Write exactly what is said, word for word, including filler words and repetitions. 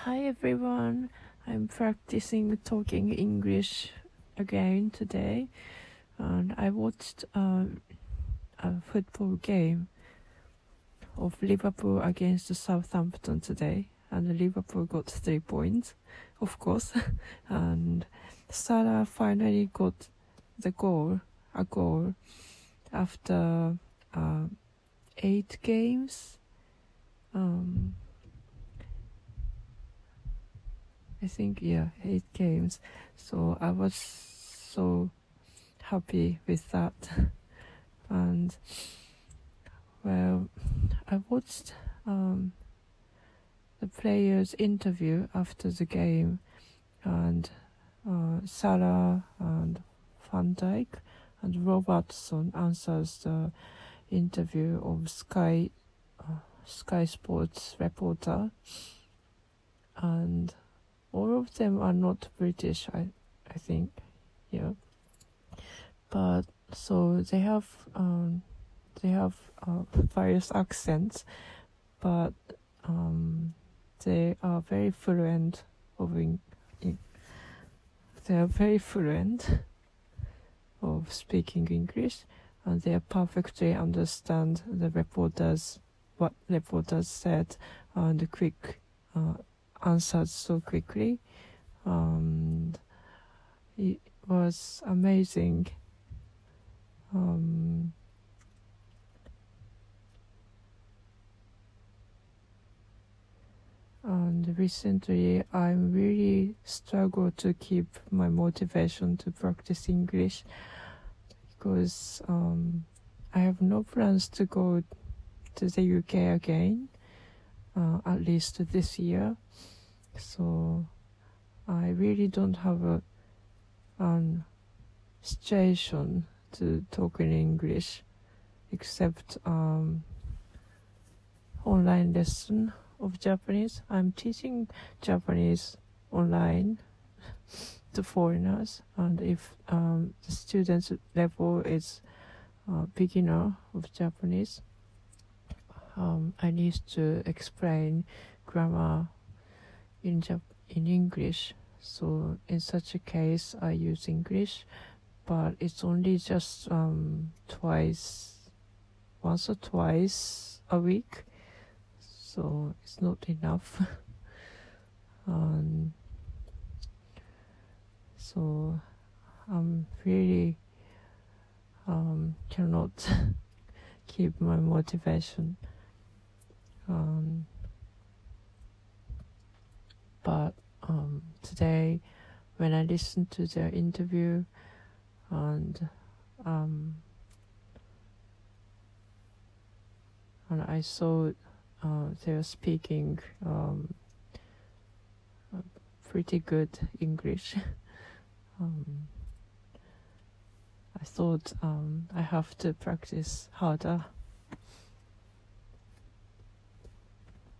Hi everyone, I'm practicing talking English again today, and I watched uh, a football game of Liverpool against Southampton today, and Liverpool got three points, of course, and Salah finally got the goal, a goal after uh, eight games. Um, I think, yeah, eight games. So I was so happy with that. And, well, I watched um, the players' interview after the game, and uh, Salah and Van Dijk and Robertson answers the interview of Sky, uh, Sky Sports reporter. And all of them are not British, I, I think, yeah. But so they have, um, they have uh, various accents, but um, they are very fluent of in, in, they are very fluent of speaking English, and they perfectly understand the reporters, what reporters said, and quick. Uh, answered so quickly, and it was amazing. Um, and recently I really struggle to keep my motivation to practice English, because um, I have no plans to go to the U K again, uh, at least this year. So I really don't have a um, situation to talk in English, except um, online lesson of Japanese. I'm teaching Japanese online to foreigners, and if um, the student's level is uh, beginner of Japanese, um, I need to explain grammar in Jap- in English. So in such a case I use English, but it's only just um, twice, once or twice a week, so it's not enough. um, so I'm really um, cannot keep my motivation. Um, but um, today, when I listened to their interview, and um, and I saw uh, they were speaking um, pretty good English, um, I thought um, I have to practice harder.